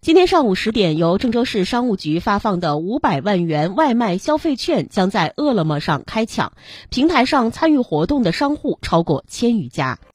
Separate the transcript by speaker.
Speaker 1: 今天上午10点，由郑州市商务局发放的500万元外卖消费券将在饿了么上开抢，平台上参与活动的商户超过1000余家。